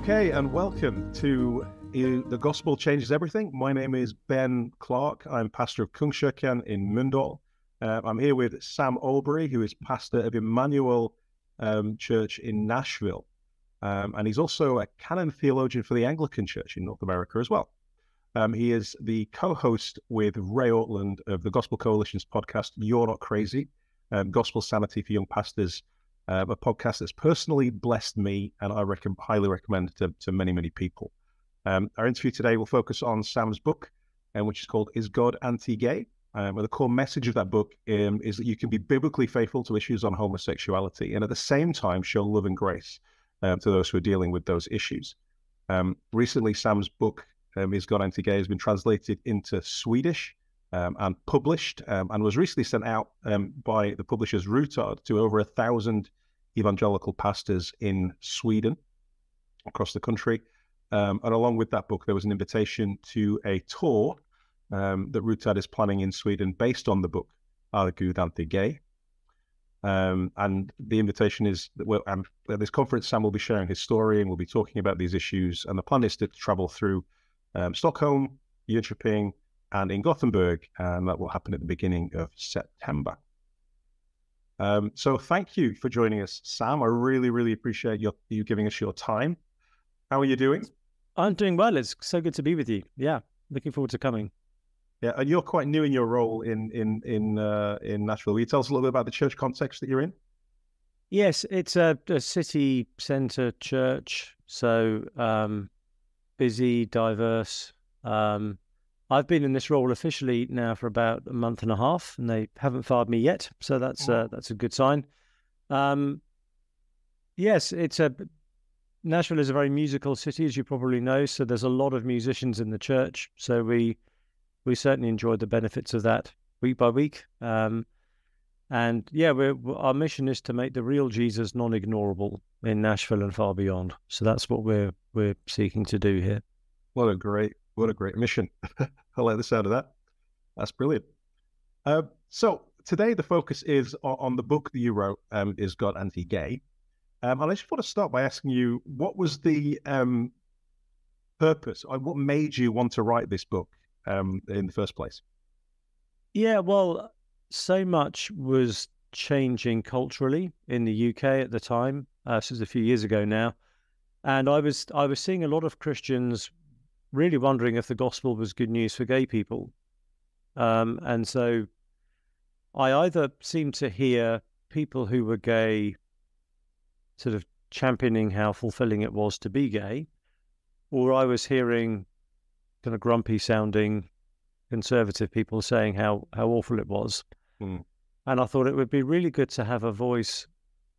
Okay, and welcome to The Gospel Changes Everything. My name is Ben Clark. I'm pastor of Kungskirken in Mölndal. I'm here with Sam Albury, who is pastor of Emmanuel Church in Nashville. And he's also a canon theologian for the Anglican Church in North America as well. He is the co-host with Ray Ortland of the Gospel Coalition's podcast, You're Not Crazy, Gospel Sanity for Young Pastors, a podcast that's personally blessed me and I highly recommend to many, many people. Our interview today will focus on Sam's book, which is called Is God Anti-Gay? And the core message of that book is that you can be biblically faithful to issues on homosexuality and at the same time show love and grace to those who are dealing with those issues. Recently, Sam's book, Is God Anti-Gay, has been translated into Swedish and published and was recently sent out by the publishers Rutard to over 1,000 evangelical pastors in Sweden across the country. And along with that book, there was an invitation to a tour that Rutard is planning in Sweden based on the book, Är Gud Anti-Gay? And the invitation is that at this conference, Sam will be sharing his story and we'll be talking about these issues. And the plan is to travel through Stockholm, Jönköping, and in Gothenburg, and that will happen at the beginning of September. So thank you for joining us, Sam. I really, really appreciate you giving us your time. How are you doing? I'm doing well. It's so good to be with you. Yeah, looking forward to coming. Yeah, and you're quite new in your role in Nashville. Will you tell us a little bit about the church context that you're in? Yes, it's a city centre church, so busy, diverse. I've been in this role officially now for about a month and a half, and they haven't fired me yet, so that's a good sign. Yes, Nashville is a very musical city, as you probably know, so there's a lot of musicians in the church. So we certainly enjoyed the benefits of that week by week. And yeah, our mission is to make the real Jesus non-ignorable in Nashville and far beyond. So that's what we're seeking to do here. What a great mission. I like the sound of that. That's brilliant. So today the focus is on the book that you wrote, Is God Anti-Gay? And I just want to start by asking you, what was the purpose, or what made you want to write this book in the first place? Yeah, well, so much was changing culturally in the UK at the time. This was a few years ago now. And I was seeing a lot of Christians really wondering if the gospel was good news for gay people. And so I either seemed to hear people who were gay sort of championing how fulfilling it was to be gay, or I was hearing kind of grumpy sounding conservative people saying how awful it was. And I thought it would be really good to have a voice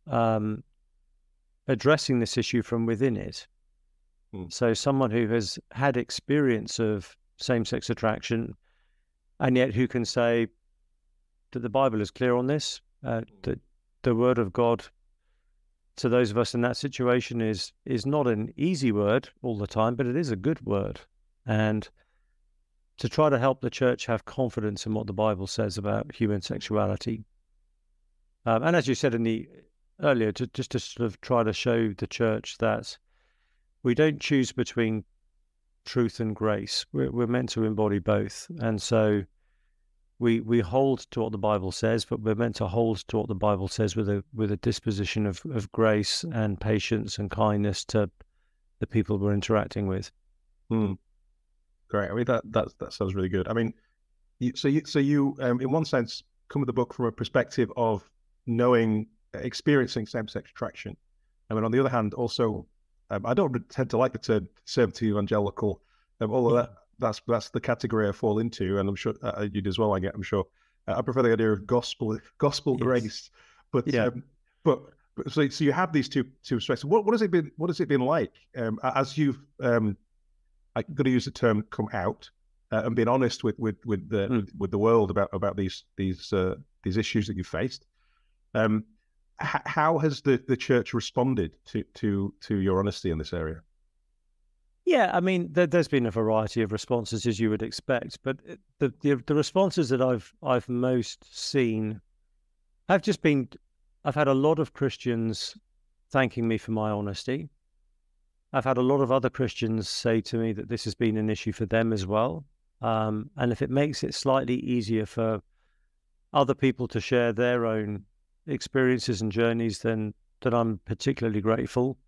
addressing this issue from within it. So someone who has had experience of same-sex attraction and yet who can say that the Bible is clear on this, that the word of God to those of us in that situation is not an easy word all the time, but it is a good word. And to try to help the church have confidence in what the Bible says about human sexuality. And as you said earlier, just to sort of try to show the church that we don't choose between truth and grace. We're meant to embody both. And so we hold to what the Bible says, but we're meant to hold to what the Bible says with a disposition of grace and patience and kindness to the people we're interacting with. Great. I mean, that sounds really good. I mean, you in one sense come at the book from a perspective of experiencing same-sex attraction. I mean, on the other hand, also, I don't tend to like the term conservative evangelical, although that's the category I fall into, and I'm sure you do as well. I'm sure. I prefer the idea of gospel yes. Grace, but yeah. So you have these two perspectives. What has it been? What has it been like as you've I'm going to use the term come out and being honest with the world about these issues that you faced? How has the church responded to your honesty in this area? Yeah, I mean, there's been a variety of responses, as you would expect, but the responses that I've most seen have just been, I've had a lot of Christians thanking me for my honesty, I've had a lot of other Christians say to me that this has been an issue for them as well. And if it makes it slightly easier for other people to share their own experiences and journeys, then I'm particularly grateful.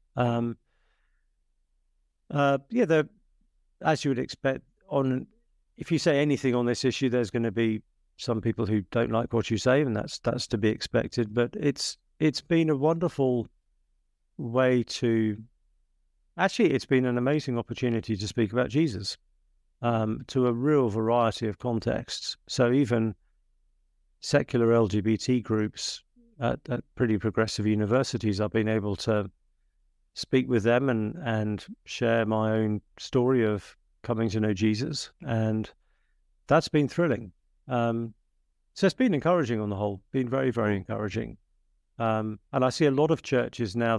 Yeah, as you would expect, if you say anything on this issue, there's going to be some people who don't like what you say, and that's to be expected. But it's been a wonderful way to. Actually, it's been an amazing opportunity to speak about Jesus to a real variety of contexts. So even secular LGBT groups at pretty progressive universities, I've been able to speak with them and share my own story of coming to know Jesus. And that's been thrilling. So it's been encouraging on the whole, been very, very encouraging. And I see a lot of churches now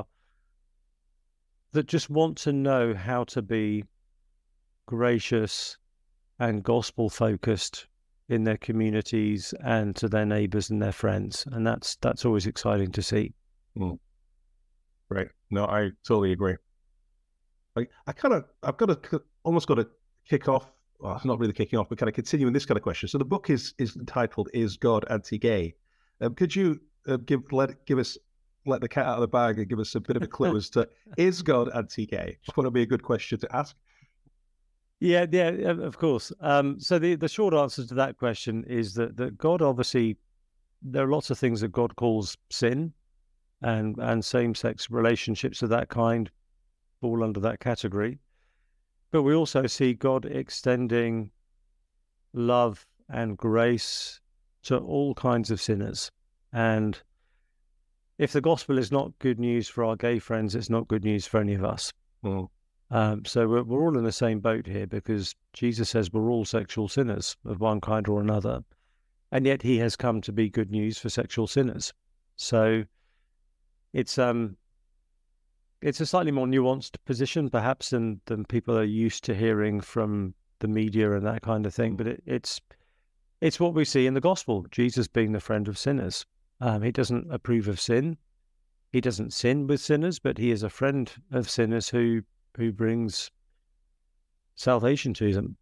that just want to know how to be gracious and gospel focused in their communities and to their neighbors and their friends. And that's always exciting to see. Right. No, I totally agree. I've almost got to kick off. Well, not really kicking off, but kind of continuing this kind of question. So the book is entitled "Is God Anti-Gay?" Could you let the cat out of the bag and give us a bit of a clue as to, is God anti-gay? That would be a good question to ask. Yeah, of course. So the short answer to that question is that God, obviously, there are lots of things that God calls sin, and same-sex relationships of that kind fall under that category. But we also see God extending love and grace to all kinds of sinners. And if the gospel is not good news for our gay friends, it's not good news for any of us. So we're all in the same boat here, because Jesus says we're all sexual sinners of one kind or another, and yet he has come to be good news for sexual sinners. So it's a slightly more nuanced position, perhaps, than people are used to hearing from the media and that kind of thing. But it's what we see in the gospel: Jesus being the friend of sinners. He doesn't approve of sin. He doesn't sin with sinners, but he is a friend of sinners who brings salvation to them.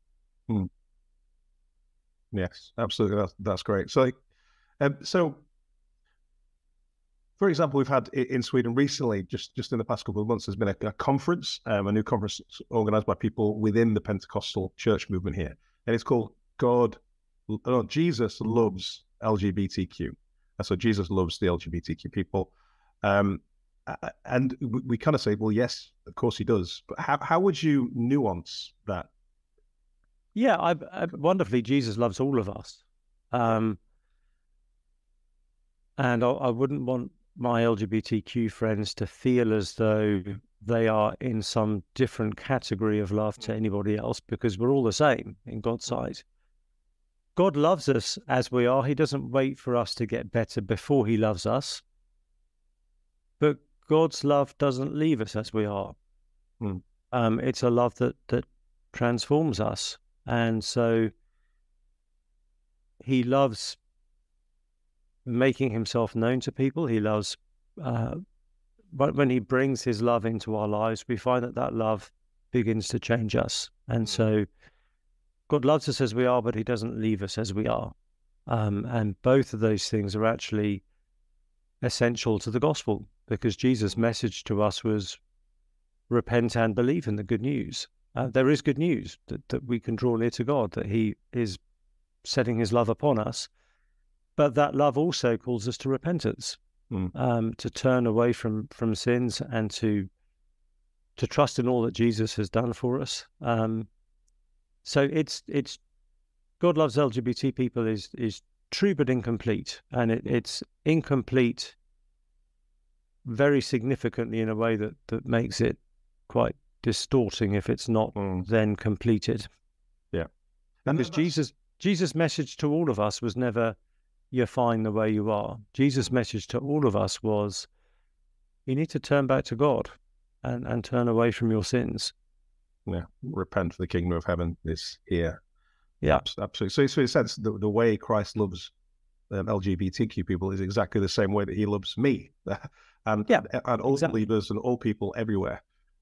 Yes, absolutely. That's great. So, for example, we've had in Sweden recently, just in the past couple of months, there's been a conference, a new conference organized by people within the Pentecostal church movement here, and it's called Jesus Loves LGBTQ. So Jesus loves the LGBTQ people. And we kind of say, well, yes, of course he does. But how would you nuance that? Yeah, wonderfully, Jesus loves all of us. And I wouldn't want my LGBTQ friends to feel as though they are in some different category of love to anybody else, because we're all the same in God's sight. God loves us as we are. He doesn't wait for us to get better before he loves us. But God's love doesn't leave us as we are. It's a love that transforms us. And so he loves making himself known to people. He loves, when he brings his love into our lives, we find that love begins to change us. And so God loves us as we are, but he doesn't leave us as we are. And both of those things are actually essential to the gospel, because Jesus' message to us was repent and believe in the good news. There is good news that we can draw near to God, that he is setting his love upon us. But that love also calls us to repentance, to turn away from sins and to trust in all that Jesus has done for us. So it's God loves LGBT people is true but incomplete, and it's incomplete very significantly in a way that makes it quite distorting if it's not then completed. Yeah, because Jesus' message to all of us was never, you're fine the way you are. Jesus' message to all of us was, you need to turn back to God and turn away from your sins. Yeah, repent, for the kingdom of heaven is here. Yeah, absolutely. So in a sense, the way Christ loves LGBTQ people is exactly the same way that he loves me, and all believers and all people everywhere.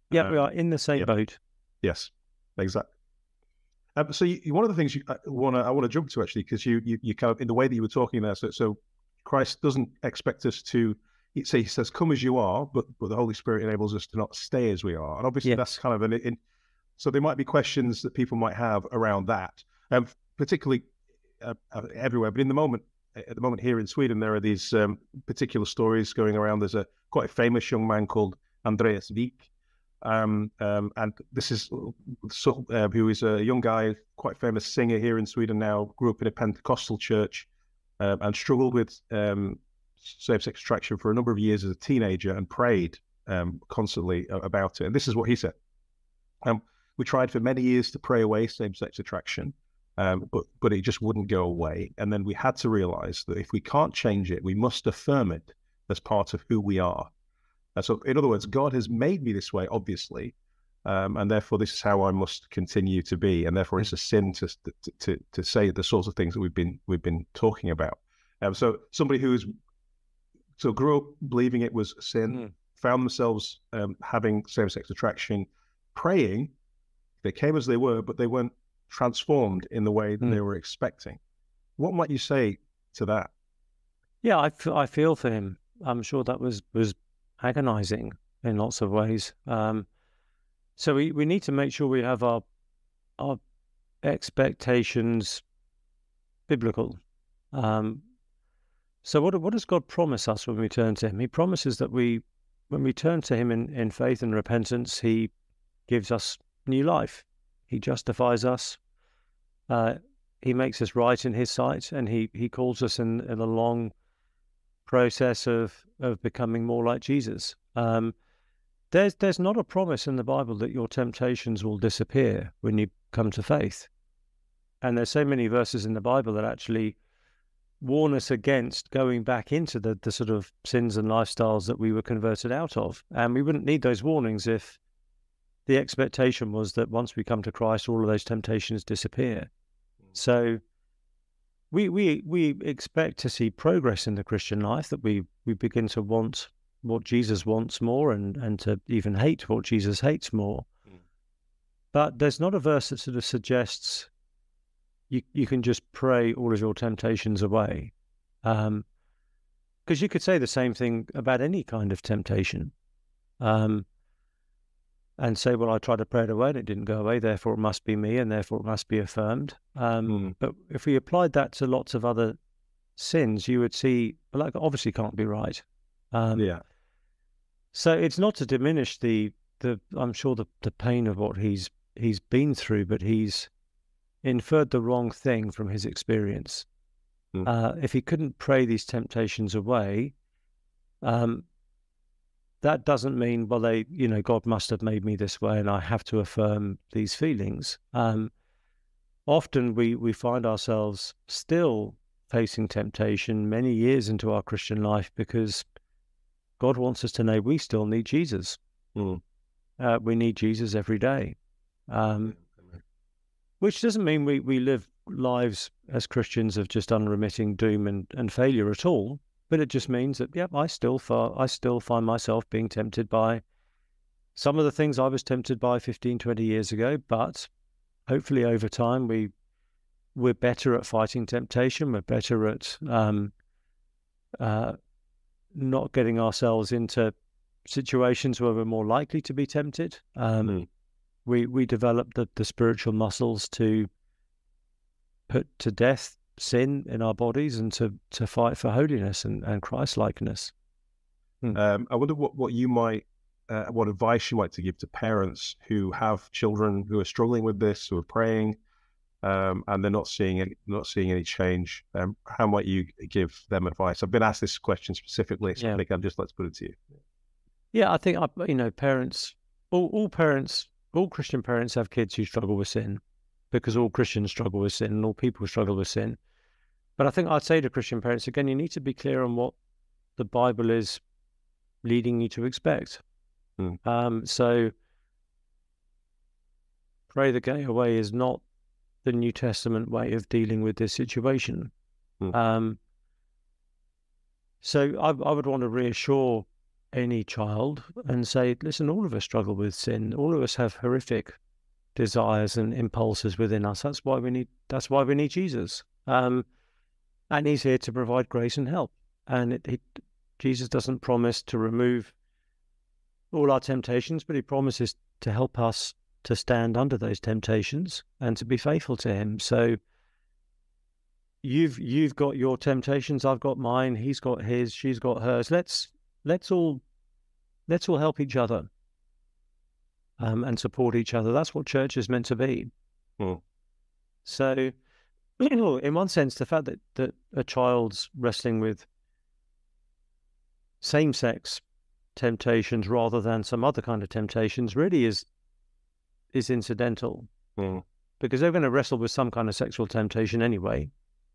Yeah, we are in the same boat. Yes, exactly. So one of the things I want to jump to, actually, because you kind of, in the way that you were talking there, so Christ doesn't expect us to. He says, "Come as you are," but the Holy Spirit enables us to not stay as we are, and obviously that's kind of so there might be questions that people might have around that, particularly everywhere. But at the moment here in Sweden, there are these particular stories going around. There's a quite famous young man called Andreas Wijk. And this is who is a young guy, quite famous singer here in Sweden now, grew up in a Pentecostal church and struggled with same-sex attraction for a number of years as a teenager and prayed constantly about it. And this is what he said. We tried for many years to pray away same-sex attraction, but it just wouldn't go away. And then we had to realize that if we can't change it, we must affirm it as part of who we are. So in other words, God has made me this way, obviously, and therefore this is how I must continue to be. And therefore it's a sin to say the sorts of things that we've been talking about. So somebody who grew up believing it was sin, found themselves having same-sex attraction, praying, they came as they were, but they weren't transformed in the way that they were expecting. What might you say to that? Yeah, I feel for him. I'm sure that was agonizing in lots of ways. So we need to make sure we have our expectations biblical. So what does God promise us when we turn to him? He promises that when we turn to him in faith and repentance, he gives us new life. He justifies us. He makes us right in his sight, and he calls us in a long process of becoming more like Jesus. There's not a promise in the Bible that your temptations will disappear when you come to faith. And there's so many verses in the Bible that actually warn us against going back into the sort of sins and lifestyles that we were converted out of. And we wouldn't need those warnings if the expectation was that once we come to Christ, all of those temptations disappear. So we expect to see progress in the Christian life, that we begin to want what Jesus wants more and to even hate what Jesus hates more. But there's not a verse that sort of suggests you can just pray all of your temptations away. Because you could say the same thing about any kind of temptation. And say, well, I tried to pray it away and it didn't go away, therefore it must be me and therefore it must be affirmed. But if we applied that to lots of other sins, you would see, well, that obviously can't be right. So it's not to diminish I'm sure the pain of what he's been through, but he's inferred the wrong thing from his experience. If he couldn't pray these temptations away, that doesn't mean, well, God must have made me this way and I have to affirm these feelings. Often we find ourselves still facing temptation many years into our Christian life because God wants us to know we still need Jesus. We need Jesus every day. Which doesn't mean we live lives as Christians of just unremitting doom and failure at all. But it just means that, I still find myself being tempted by some of the things I was tempted by 15, 20 years ago. But hopefully over time, we're better at fighting temptation. We're better at not getting ourselves into situations where we're more likely to be tempted. We develop the spiritual muscles to put to death sin in our bodies and to fight for holiness and Christ-likeness. I wonder what you might, what advice you might to give to parents who have children who are struggling with this, who are praying, and they're not seeing any change. How might you give them advice? I've been asked this question specifically, so I think I'd just like to put it to you. Yeah, I think parents, all Christian parents have kids who struggle with sin, because all Christians struggle with sin and all people struggle with sin. But I think I'd say to Christian parents, again, you need to be clear on what the Bible is leading you to expect. So pray the gay away is not the New Testament way of dealing with this situation. So I would want to reassure any child and say, listen, all of us struggle with sin. All of us have horrific desires and impulses within us. That's why we need Jesus. And he's here to provide grace and help. And Jesus doesn't promise to remove all our temptations, but he promises to help us to stand under those temptations and to be faithful to him. So you've got your temptations, I've got mine, he's got his, she's got hers. Let's all help each other and support each other. That's what church is meant to be. So, in one sense, the fact that a child's wrestling with same-sex temptations rather than some other kind of temptations really is incidental, because they're going to wrestle with some kind of sexual temptation anyway.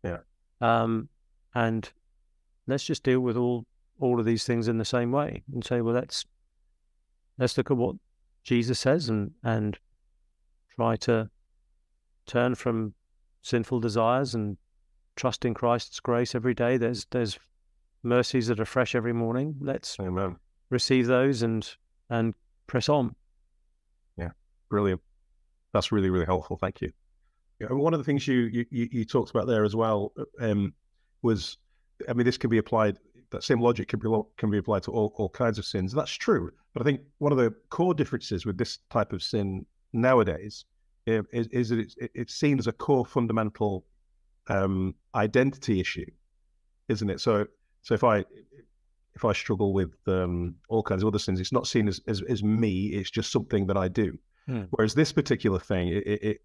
And let's just deal with all of these things in the same way and say, well, let's look at what Jesus says and try to turn from sinful desires and trust in Christ's grace every day. There's mercies that are fresh every morning. Let's receive those and press on. Yeah, brilliant. That's really, really helpful. Thank you. One of the things you talked about there as well was, I mean, this can be applied. That same logic can be applied to all kinds of sins. That's true. But I think one of the core differences with this type of sin nowadays is that it's seen as a core fundamental identity issue, isn't it? So if I struggle with all kinds of other sins, it's not seen as me. It's just something that I do. Whereas this particular thing,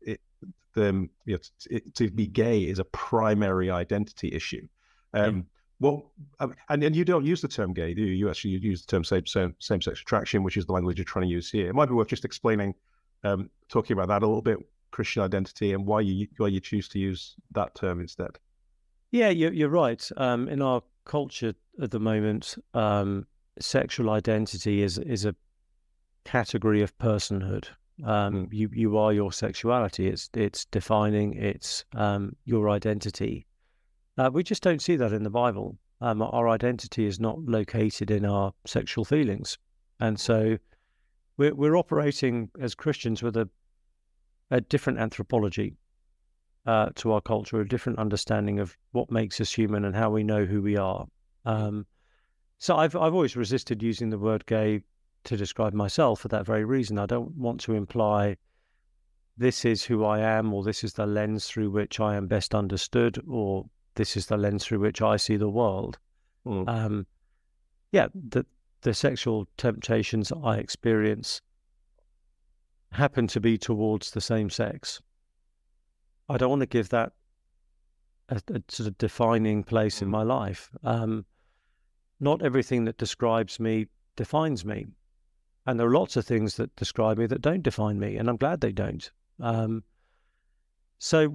to be gay is a primary identity issue. Well, and you don't use the term gay, do you? You actually use the term same-sex attraction, which is the language you're trying to use here. It might be worth just explaining, talking about that a little bit, Christian identity, and why you choose to use that term instead. Yeah, you're right. In our culture at the moment, sexual identity is a category of personhood. You are your sexuality. It's defining. It's your identity. We just don't see that in the Bible. Our identity is not located in our sexual feelings, and so we're operating as Christians with a different anthropology to our culture, a different understanding of what makes us human and how we know who we are. So I've always resisted using the word gay to describe myself for that very reason. I don't want to imply this is who I am, or this is the lens through which I am best understood, or this is the lens through which I see the world. The sexual temptations I experience happen to be towards the same sex. I don't want to give that a sort of defining place in my life. Not everything that describes me defines me. And there are lots of things that describe me that don't define me, and I'm glad they don't. So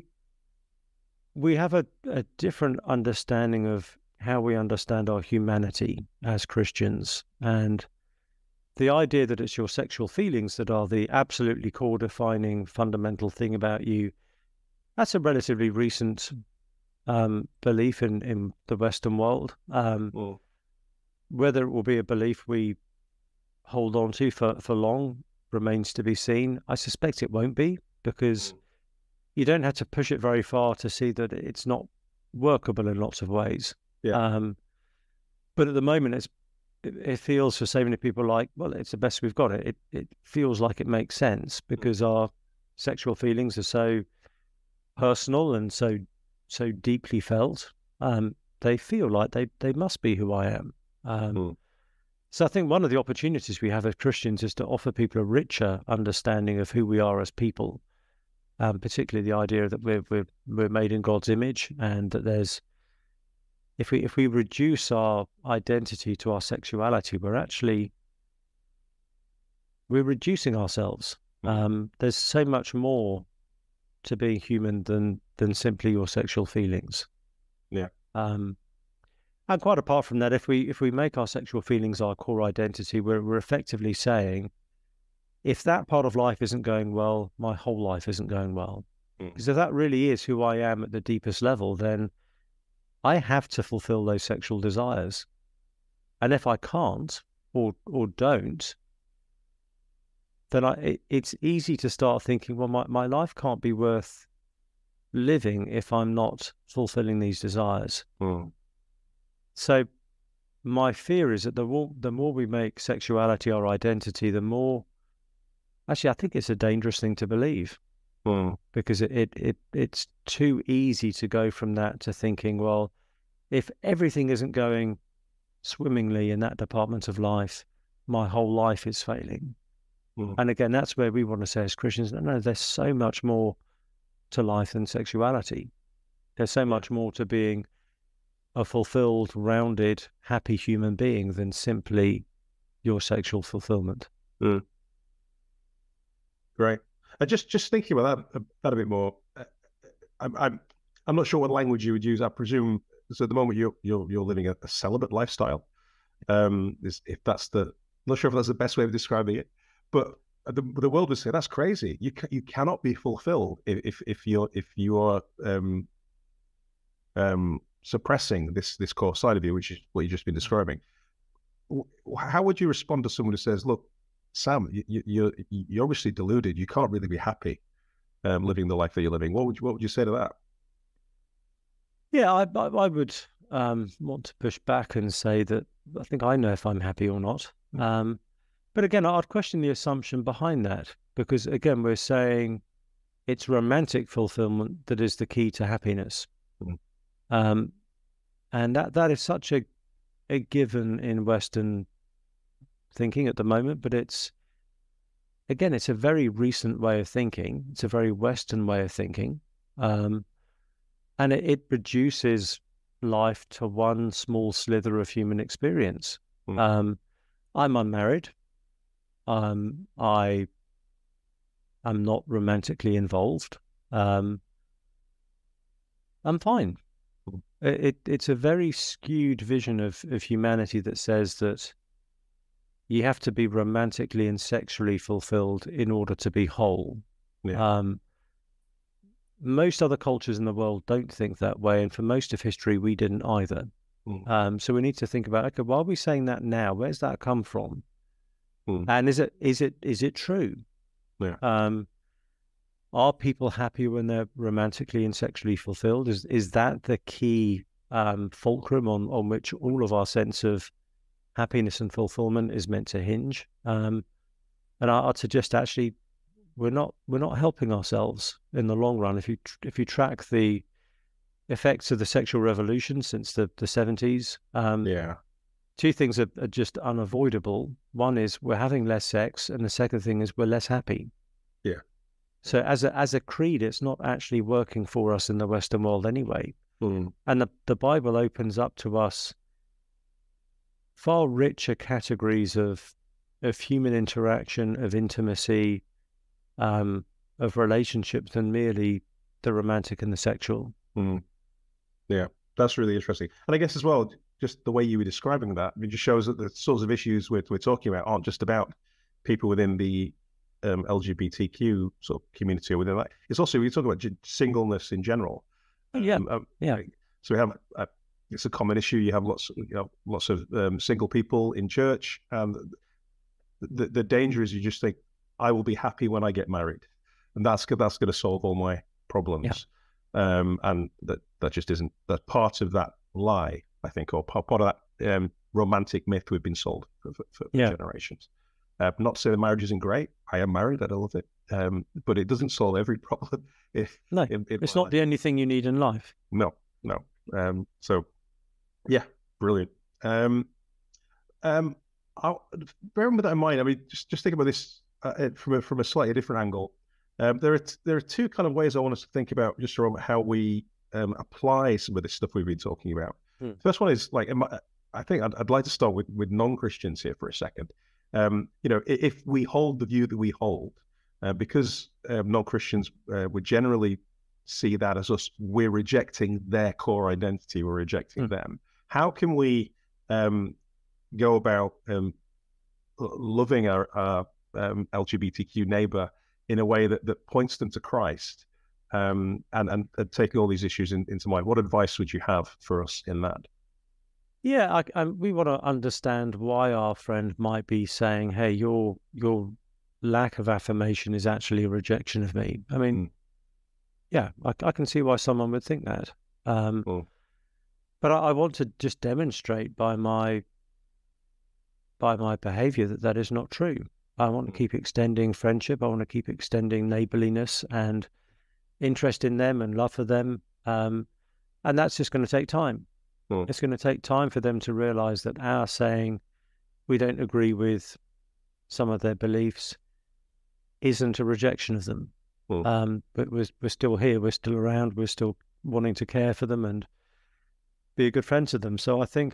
we have a different understanding of how we understand our humanity as Christians, and the idea that it's your sexual feelings that are the absolutely core defining fundamental thing about you, that's a relatively recent belief in the Western world. Whether it will be a belief we hold on to for long remains to be seen. I suspect it won't be, because you don't have to push it very far to see that it's not workable in lots of ways. But at the moment, it feels for so many people like, well, it's the best we've got. It feels like it makes sense because our sexual feelings are so personal and so deeply felt. They feel like they must be who I am. So I think one of the opportunities we have as Christians is to offer people a richer understanding of who we are as people, particularly the idea that we're made in God's image, and that there's, if we reduce our identity to our sexuality, we're reducing ourselves. There's so much more to being human than simply your sexual feelings. And quite apart from that, if we make our sexual feelings our core identity, we're effectively saying, if that part of life isn't going well, my whole life isn't going well. Because if that really is who I am at the deepest level, then I have to fulfill those sexual desires. And if I can't or don't, then it's easy to start thinking, well, my life can't be worth living if I'm not fulfilling these desires. So my fear is that the more we make sexuality our identity, the more, actually, I think it's a dangerous thing to believe, because it's too easy to go from that to thinking, well, if everything isn't going swimmingly in that department of life, my whole life is failing. And again, that's where we want to say as Christians, no, there's so much more to life than sexuality. There's so much more to being a fulfilled, rounded, happy human being than simply your sexual fulfillment. Great. Just thinking about that a bit more. I'm not sure what language you would use. I presume so. At the moment, you're living a celibate lifestyle. If that's I'm not sure if that's the best way of describing it, but the world would say that's crazy. You cannot be fulfilled if you are suppressing this core side of you, which is what you've just been describing. How would you respond to someone who says, "Look, Sam, you're obviously deluded. You can't really be happy living the life that you're living"? What would you say to that? Yeah, I would want to push back and say that I think I know if I'm happy or not. But again, I'd question the assumption behind that, because again, we're saying it's romantic fulfillment that is the key to happiness. And that is such a given in Western thinking at the moment, but it's a very recent way of thinking. It's a very Western way of thinking. And it reduces life to one small slither of human experience. I'm unmarried. I am not romantically involved. I'm fine. It's a very skewed vision of humanity that says that you have to be romantically and sexually fulfilled in order to be whole. Most other cultures in the world don't think that way, and for most of history, we didn't either. So we need to think about, okay, why are we saying that now? Where's that come from? And is it true? Are people happy when they're romantically and sexually fulfilled? Is that the key fulcrum on which all of our sense of happiness and fulfillment is meant to hinge? And I'd suggest actually we're not helping ourselves in the long run. If you track the effects of the sexual revolution since the 70s, two things are just unavoidable. One is we're having less sex, and the second thing is we're less happy. So as a creed, it's not actually working for us in the Western world anyway. And the Bible opens up to us far richer categories of human interaction, of intimacy, of relationships than merely the romantic and the sexual. Yeah, that's really interesting. And I guess as well, just the way you were describing that, it just shows that the sorts of issues we're talking about aren't just about people within the LGBTQ sort of community or within that. It's also, we talk about singleness in general. So we have it's a common issue. You have lots of single people in church, and the danger is you just think, I will be happy when I get married, and that's going to solve all my problems. And that just isn't. That part of that lie, I think, or part of that romantic myth we've been sold for generations. Not saying marriage isn't great. I am married. I love it. But it doesn't solve every problem. It's not the only thing you need in life. No. So, yeah, brilliant. Bearing with that in mind, I mean, just think about this from a slightly different angle. There are two kind of ways I want us to think about just around how we apply some of this stuff we've been talking about. The first one is like, I think I'd like to start with non-Christians here for a second. If we hold the view that we hold, because non-Christians would generally see that as us, we're rejecting their core identity, we're rejecting them. How can we go about loving our LGBTQ neighbor in a way that points them to Christ, and taking all these issues into mind? What advice would you have for us in that? Yeah, we want to understand why our friend might be saying, "Hey, your lack of affirmation is actually a rejection of me." I mean, yeah, I can see why someone would think that. But I want to just demonstrate by my behavior that is not true. I want to keep extending friendship. I want to keep extending neighborliness and interest in them and love for them. And that's just going to take time. It's going to take time for them to realize that our saying we don't agree with some of their beliefs isn't a rejection of them. But we're still here. We're still around. We're still wanting to care for them and be a good friend to them. So I think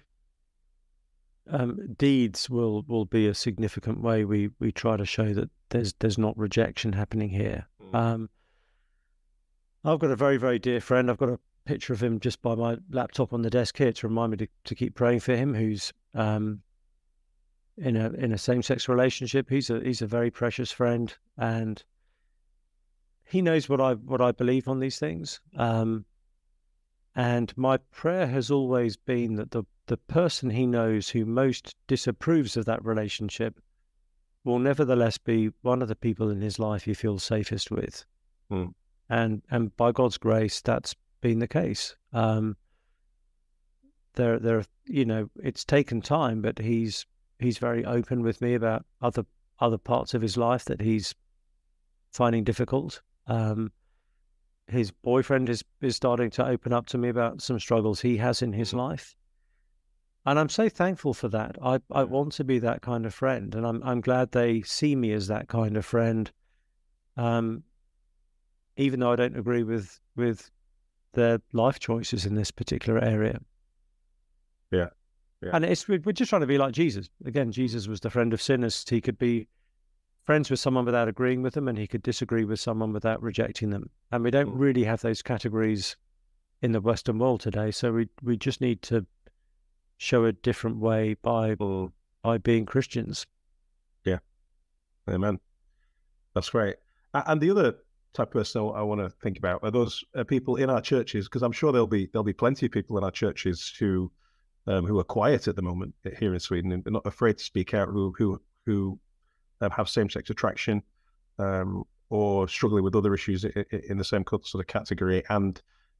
deeds will be a significant way we try to show that there's not rejection happening here. I've got a very, very dear friend. I've got a picture of him just by my laptop on the desk here to remind me to keep praying for him, who's in a same-sex relationship. He's a very precious friend, and he knows what I believe on these things. And my prayer has always been that the person he knows who most disapproves of that relationship will nevertheless be one of the people in his life he feels safest with. And by God's grace, that's been the case. There, it's taken time, but he's very open with me about other parts of his life that he's finding difficult. His boyfriend is starting to open up to me about some struggles he has in his life. And I'm so thankful for that. I want to be that kind of friend, and I'm glad they see me as that kind of friend. Even though I don't agree with their life choices in this particular area. Yeah. And we're just trying to be like Jesus. Again, Jesus was the friend of sinners. He could be friends with someone without agreeing with them, and he could disagree with someone without rejecting them. And we don't really have those categories in the Western world today. So we just need to show a different way by being Christians. Yeah. Amen. That's great. And the other type of person I want to think about are those people in our churches, because I'm sure there'll be plenty of people in our churches who are quiet at the moment here in Sweden and not afraid to speak out, who have same-sex attraction or struggling with other issues in the same sort of category, and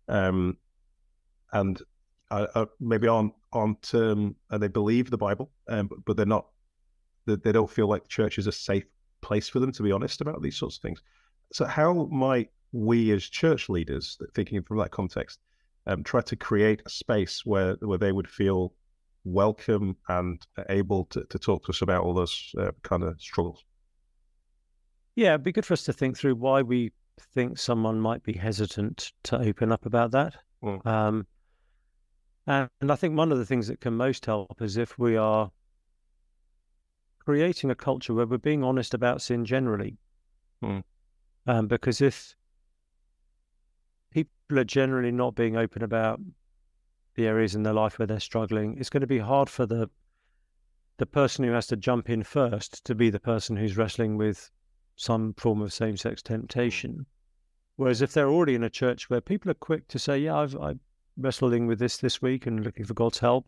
maybe aren't and they believe the Bible, but they're not. They don't feel like the church is a safe place for them to be honest about these sorts of things. So how might we as church leaders, thinking from that context, try to create a space where they would feel welcome and able to talk to us about all those kind of struggles? Yeah, it'd be good for us to think through why we think someone might be hesitant to open up about that. And I think one of the things that can most help is if we are creating a culture where we're being honest about sin generally. Because if people are generally not being open about the areas in their life where they're struggling, it's going to be hard for the person who has to jump in first to be the person who's wrestling with some form of same-sex temptation. Whereas if they're already in a church where people are quick to say, yeah, I'm wrestling with this week and looking for God's help,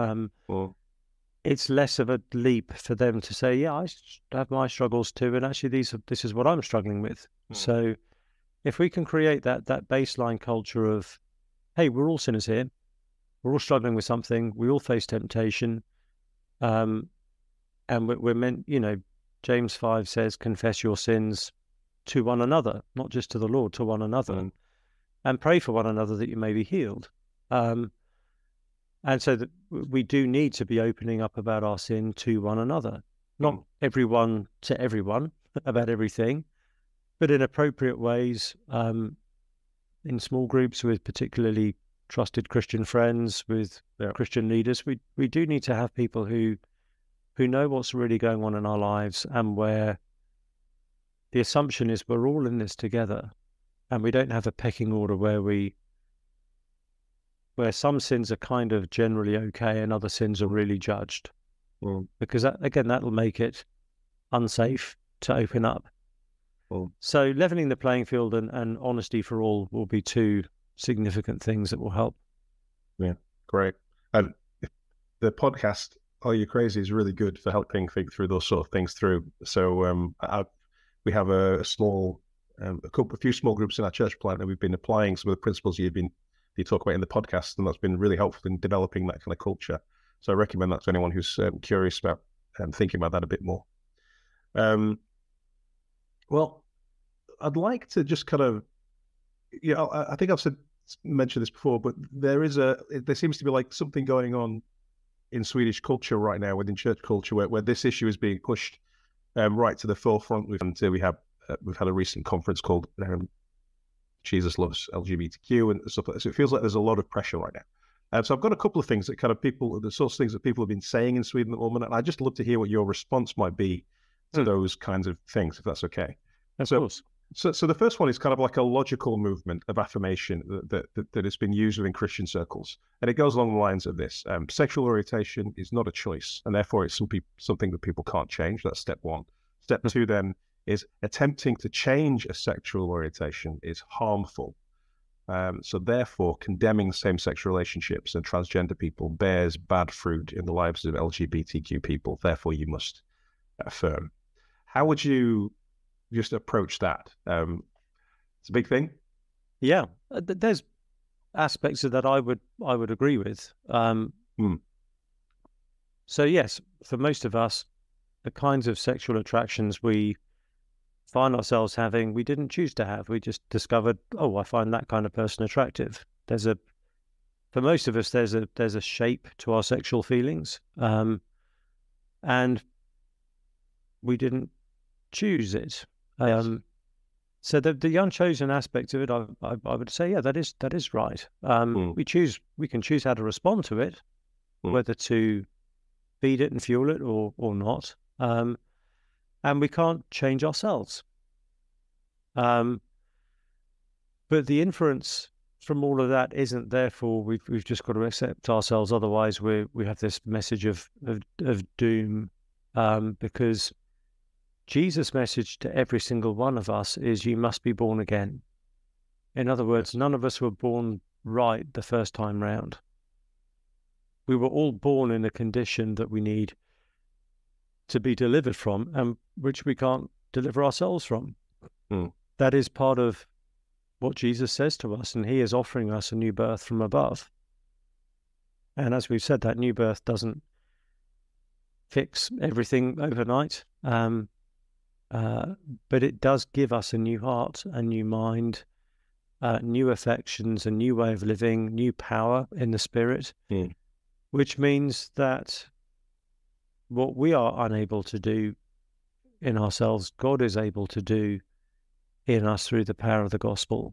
it's less of a leap for them to say, yeah, I have my struggles too, and actually this is what I'm struggling with. So if we can create that baseline culture of, hey, we're all sinners here, we're all struggling with something, we all face temptation, and we're meant, James 5 says, confess your sins to one another, not just to the Lord, to one another, and pray for one another that you may be healed. And so that we do need to be opening up about our sin to one another, not everyone to everyone about everything, but in appropriate ways, in small groups with particularly trusted Christian friends, with Christian leaders. We do need to have people who know what's really going on in our lives, and where the assumption is we're all in this together, and we don't have a pecking order where some sins are kind of generally okay and other sins are really judged. Because that'll make it unsafe to open up. So leveling the playing field and honesty for all will be two significant things that will help. Yeah, great. And the podcast Are You Crazy is really good for helping think through those sort of things through. So we have a few small groups in our church plant, and we've been applying some of the principles you talk about in the podcast, and that's been really helpful in developing that kind of culture. So I recommend that to anyone who's curious about thinking about that a bit more. Well, I'd like to just kind of, I think I've mentioned this before, but there seems to be like something going on in Swedish culture right now, within church culture, where this issue is being pushed right to the forefront. We've had a recent conference called Jesus Loves LGBTQ and stuff like that. So it feels like there's a lot of pressure right now. So I've got a couple of things that kind of the sorts of things that people have been saying in Sweden at the moment, and I'd just love to hear what your response might be to those kinds of things, if that's okay. Of course. So the first one is kind of like a logical movement of affirmation that has been used within Christian circles, and it goes along the lines of this: sexual orientation is not a choice, and therefore it's something that people can't change. That's step one. Step two then is attempting to change a sexual orientation is harmful. So therefore, condemning same-sex relationships and transgender people bears bad fruit in the lives of LGBTQ people. Therefore, you must affirm. How would you just approach that? It's a big thing. Yeah, there's aspects of that I would agree with. So yes, for most of us, the kinds of sexual attractions we find ourselves having, we didn't choose to have. We just discovered, I find that kind of person attractive. For most of us, there's a shape to our sexual feelings, and we didn't choose it. So the unchosen aspect of it, I would say, yeah, that is right. We can choose how to respond to it, whether to feed it and fuel it or not. And we can't change ourselves. But the inference from all of that isn't therefore we've just got to accept ourselves. Otherwise, we have this message of doom, because Jesus' message to every single one of us is you must be born again. In other words, none of us were born right the first time round. We were all born in a condition that we need to be delivered from, and which we can't deliver ourselves from. That is part of what Jesus says to us, and he is offering us a new birth from above. And as we've said, that new birth doesn't fix everything overnight, but it does give us a new heart, a new mind, new affections, a new way of living, new power in the spirit, which means that what we are unable to do in ourselves, God is able to do in us through the power of the gospel,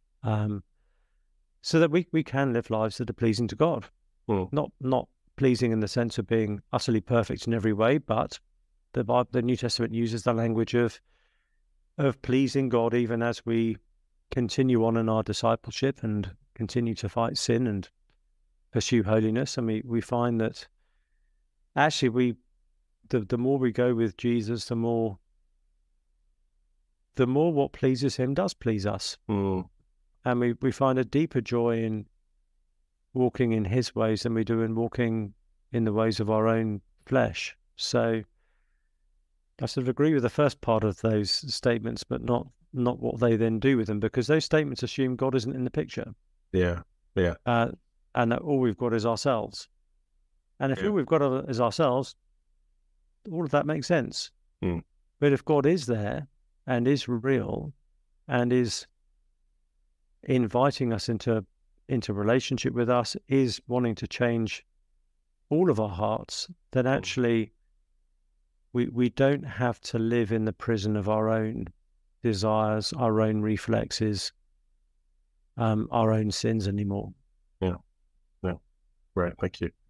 so that we can live lives that are pleasing to God. Not pleasing in the sense of being utterly perfect in every way, but the New Testament uses the language of pleasing God even as we continue on in our discipleship and continue to fight sin and pursue holiness. And we find that actually the more we go with Jesus, the more what pleases him does please us. And we find a deeper joy in walking in his ways than we do in walking in the ways of our own flesh. So I sort of agree with the first part of those statements, but not what they then do with them, because those statements assume God isn't in the picture. Yeah. And that all we've got is ourselves. And if all we've got is ourselves, all of that makes sense. But if God is there and is real and is inviting us into relationship with us, is wanting to change all of our hearts, then actually we don't have to live in the prison of our own desires, our own reflexes, our own sins anymore. Yeah. Right. Thank you.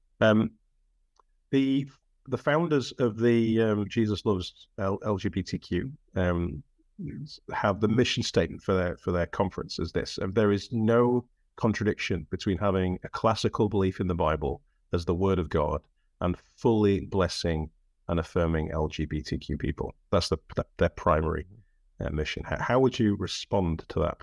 The founders of the Jesus Loves LGBTQ have the mission statement for their conference as this: there is no contradiction between having a classical belief in the Bible as the Word of God and fully blessing and affirming LGBTQ people. That's their primary mission. How would you respond to that?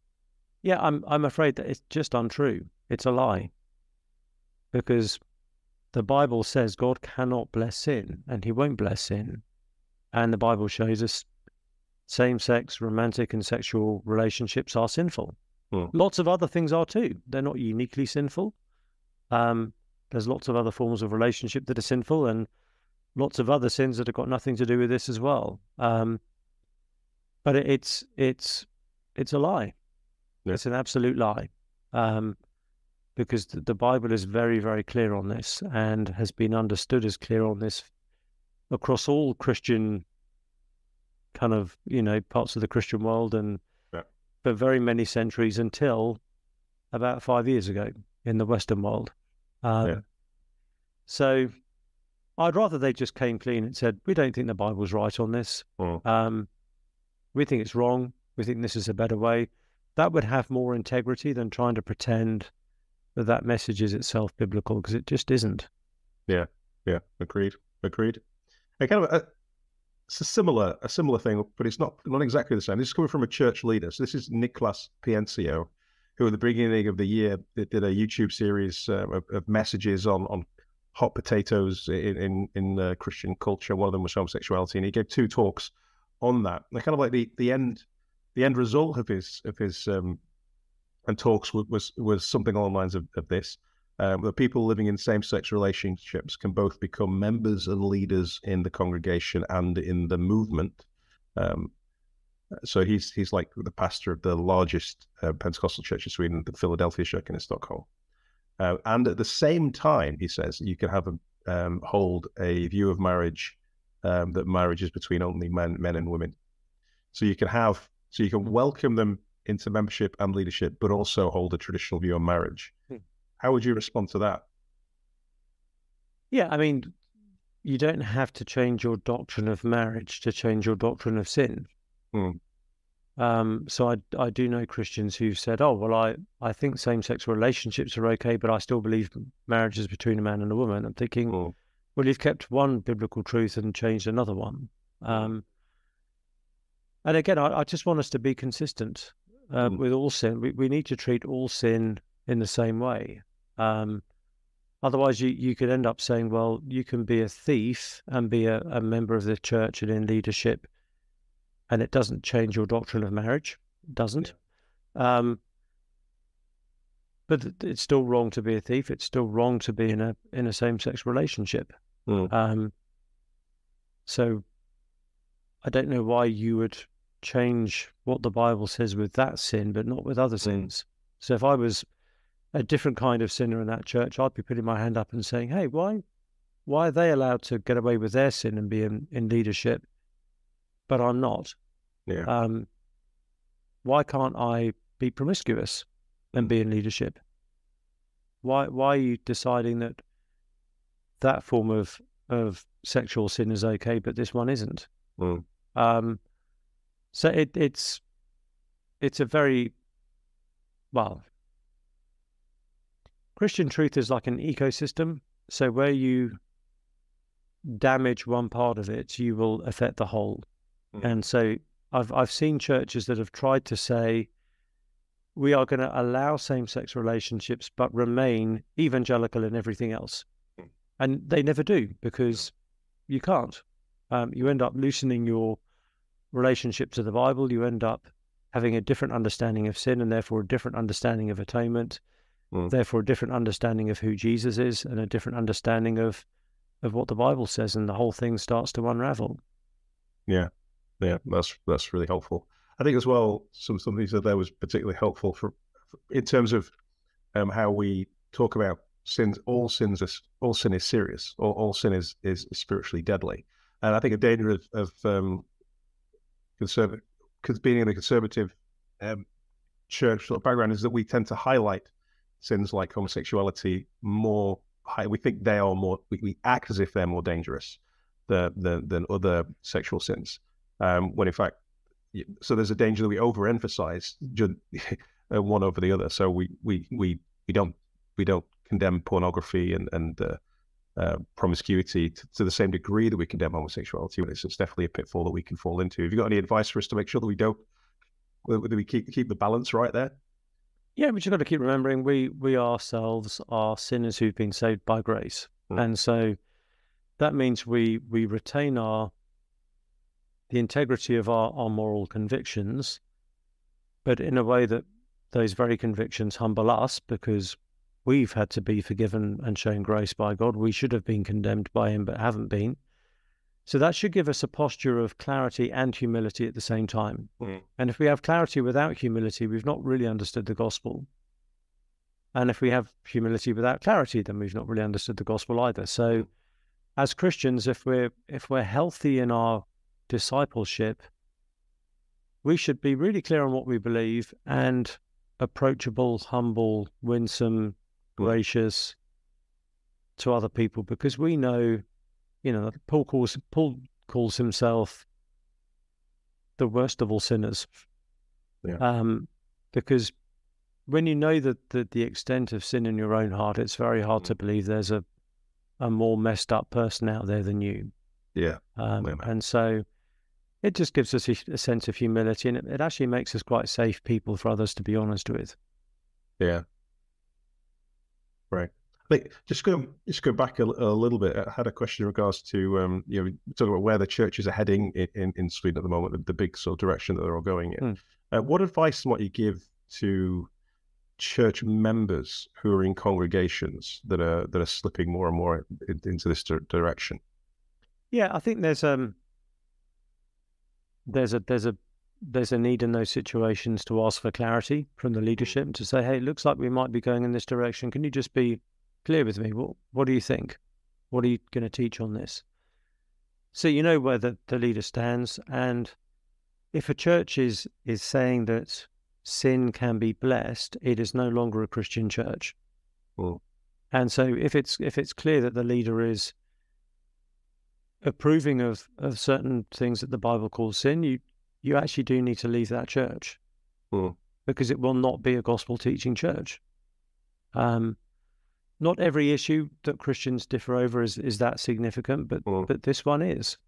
Yeah, I'm afraid that it's just untrue. It's a lie, because the Bible says God cannot bless sin, and he won't bless sin. And the Bible shows us same-sex, romantic and sexual relationships are sinful. Lots of other things are too. They're not uniquely sinful. There's lots of other forms of relationship that are sinful, and lots of other sins that have got nothing to do with this as well. But it's a lie. Yeah. It's an absolute lie. Because the Bible is very, very clear on this, and has been understood as clear on this across all Christian kind of, parts of the Christian world, and for very many centuries until about 5 years ago in the Western world. So I'd rather they just came clean and said, we don't think the Bible's right on this. We think it's wrong. We think this is a better way. That would have more integrity than trying to pretend that message is itself biblical, because it just isn't. Yeah. Agreed. And kind of it's a similar thing, but it's not exactly the same. This is coming from a church leader. So this is Nicholas Piencio, who at the beginning of the year did a YouTube series of messages on hot potatoes in Christian culture. One of them was homosexuality, and he gave 2 talks on that. And kind of like the end result of his and talks was something along the lines of this. The people living in same-sex relationships can both become members and leaders in the congregation and in the movement. So he's like the pastor of the largest Pentecostal church in Sweden, the Philadelphia Church in Stockholm. And at the same time, he says, you can have hold a view of marriage that marriage is between only men and women. So you can welcome them into membership and leadership, but also hold a traditional view on marriage. How would you respond to that? Yeah, I mean, you don't have to change your doctrine of marriage to change your doctrine of sin. So I do know Christians who've said, oh, well, I think same-sex relationships are okay, but I still believe marriage is between a man and a woman. I'm thinking, well, you've kept one biblical truth and changed another one. And again, I just want us to be consistent with all sin. We need to treat all sin in the same way. Otherwise, you could end up saying, well, you can be a thief and be a member of the church and in leadership, and it doesn't change your doctrine of marriage. It doesn't. But it's still wrong to be a thief. It's still wrong to be in a same-sex relationship. So I don't know why you would change what the Bible says with that sin, but not with other sins. So if I was a different kind of sinner in that church, I'd be putting my hand up and saying, hey, why are they allowed to get away with their sin and be in leadership, but I'm not? Why can't I be promiscuous and be in leadership? Why are you deciding that form of sexual sin is okay, but this one isn't? So it's a very, well, Christian truth is like an ecosystem. So where you damage one part of it, you will affect the whole. And so I've seen churches that have tried to say, we are going to allow same-sex relationships, but remain evangelical in everything else. And they never do, because you can't. You end up loosening your relationship to the Bible. You end up having a different understanding of sin, and therefore a different understanding of atonement, therefore a different understanding of who Jesus is, and a different understanding of what the Bible says, and the whole thing starts to unravel. Yeah, that's really helpful. I think as well, something you said there was particularly helpful in terms of how we talk about sins. All sin is serious. All sin is spiritually deadly. And I think a danger of being in a conservative church sort of background is that we tend to highlight sins like homosexuality more. We think they are more. We act as if they're more dangerous than other sexual sins. When in fact, so there's a danger that we overemphasize one over the other. So we don't condemn pornography and promiscuity to the same degree that we condemn homosexuality. It's definitely a pitfall that we can fall into. Have you got any advice for us to make sure that we keep the balance right there? Yeah, we just got to keep remembering we ourselves are sinners who've been saved by grace. And so that means we retain the integrity of our moral convictions, but in a way that those very convictions humble us, because we've had to be forgiven and shown grace by God. We should have been condemned by him, but haven't been. So that should give us a posture of clarity and humility at the same time. And if we have clarity without humility, we've not really understood the gospel. And if we have humility without clarity, then we've not really understood the gospel either. So as Christians, if we're healthy in our discipleship, we should be really clear on what we believe and approachable, humble, winsome, gracious to other people, because we know, Paul calls himself the worst of all sinners. Because when you know that the extent of sin in your own heart, it's very hard to believe there's a more messed up person out there than you. And so it just gives us a sense of humility, and it actually makes us quite safe people for others to be honest with. Yeah. Right. I think just go back a little bit. I had a question in regards to talking about where the churches are heading in Sweden at the moment, the big sort of direction that they're all going in. What advice might you give to church members who are in congregations that are slipping more and more into this direction? Yeah, I think there's a need in those situations to ask for clarity from the leadership, to say, hey, it looks like we might be going in this direction. Can you just be clear with me? What do you think? What are you going to teach on this? So you know where the leader stands. And if a church is saying that sin can be blessed, it is no longer a Christian church. And so if it's clear that the leader is approving of certain things that the Bible calls sin, you actually do need to leave that church, because it will not be a gospel teaching church. Not every issue that Christians differ over is that significant, but this one is.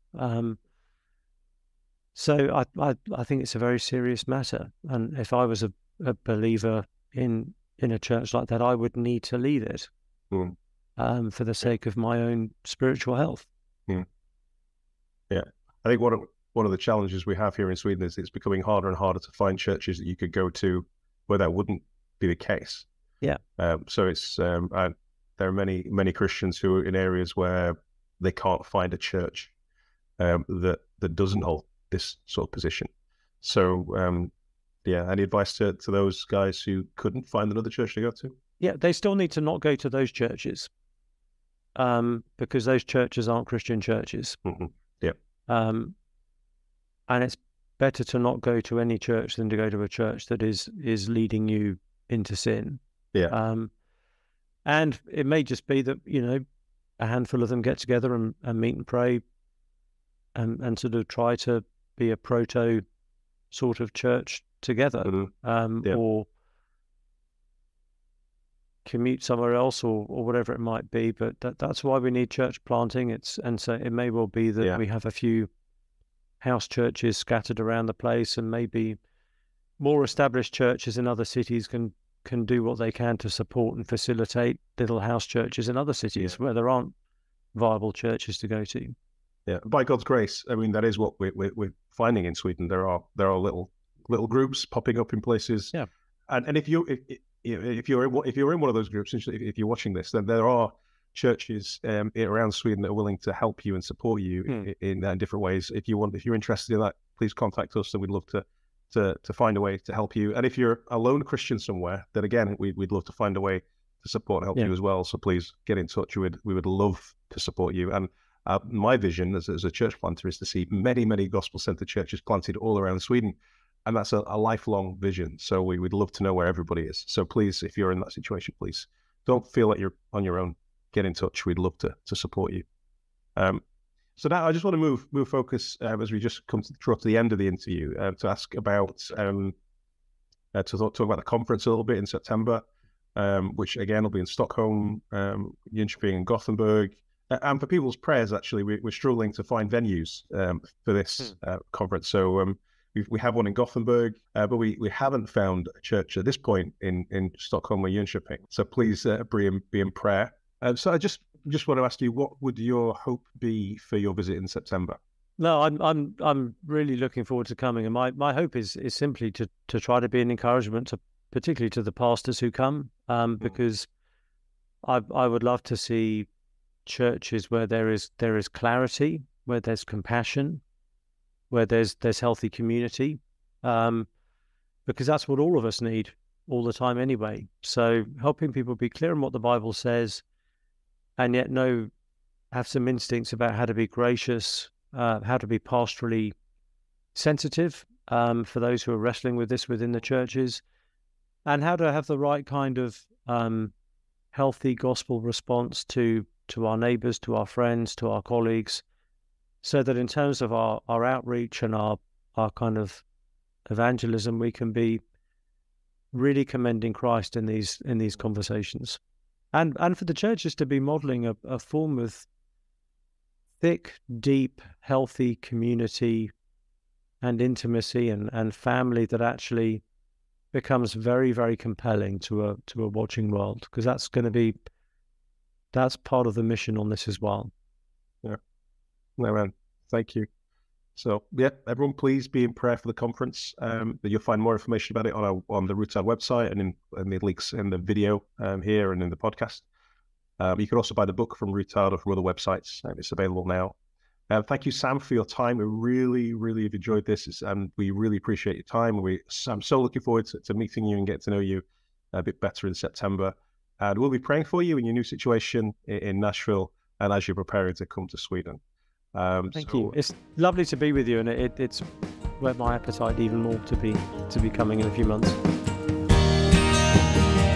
So I think it's a very serious matter. And if I was a believer in a church like that, I would need to leave it for the sake of my own spiritual health. Yeah, I think one of the challenges we have here in Sweden is it's becoming harder and harder to find churches that you could go to where that wouldn't be the case. So it's there are many Christians who are in areas where they can't find a church that doesn't hold this sort of position. So any advice to those guys who couldn't find another church to go to? Yeah, they still need to not go to those churches, because those churches aren't Christian churches. And it's better to not go to any church than to go to a church that is leading you into sin. And it may just be that, a handful of them get together and meet and pray and sort of try to be a proto sort of church together, or commute somewhere else or whatever it might be. But that's why we need church planting. And so it may well be that we have a few house churches scattered around the place, and maybe more established churches in other cities can do what they can to support and facilitate little house churches in other cities where there aren't viable churches to go to. Yeah, by God's grace, I mean, that is what we're finding in Sweden. There are little groups popping up in places. And if you're in one of those groups, if you're watching this, then there are churches around Sweden that are willing to help you and support you in different ways. If you're interested in that, please contact us, and we'd love to find a way to help you. And if you're a lone Christian somewhere, then again, we'd love to find a way to support and help you as well. So please get in touch. We would love to support you. And my vision as a church planter is to see many gospel-centered churches planted all around Sweden. And that's a lifelong vision. So we would love to know where everybody is. So please, if you're in that situation, please don't feel like you're on your own. Get in touch. We'd love to support you. So now I just want to move focus as we just come to the end of the interview to ask about to talk about the conference a little bit in September, which again will be in Stockholm, Jönköping, and Gothenburg. And for people's prayers, actually, we're struggling to find venues for this conference. So we have one in Gothenburg, but we haven't found a church at this point in Stockholm or Jönköping. So please be in prayer. So I just just want to ask you, what would your hope be for your visit in September? No, I'm really looking forward to coming, and my hope is simply to try to be an encouragement to, particularly to the pastors who come, because I would love to see churches where there is clarity, where there's compassion, where there's healthy community, because that's what all of us need all the time anyway. So helping people be clear on what the Bible says, and yet have some instincts about how to be gracious, how to be pastorally sensitive for those who are wrestling with this within the churches, and how to have the right kind of healthy gospel response to our neighbours, to our friends, to our colleagues, so that in terms of our outreach and our kind of evangelism, we can be really commending Christ in these conversations, and for the churches to be modelling a form of thick, deep, healthy community and intimacy and family that actually becomes very, very compelling to a watching world, because that's part of the mission on this as well. Yeah. No, man. Thank you. So yeah, everyone, please be in prayer for the conference. You'll find more information about it on the Rootard website and in the links in the video here and in the podcast. You can also buy the book from Rootard or from other websites. It's available now. Thank you, Sam, for your time. We really, really have enjoyed this, and we really appreciate your time. I'm so looking forward to meeting you and getting to know you a bit better in September. And we'll be praying for you in your new situation in Nashville and as you're preparing to come to Sweden. Thank you. It's lovely to be with you, and it's whet my appetite even more to be coming in a few months.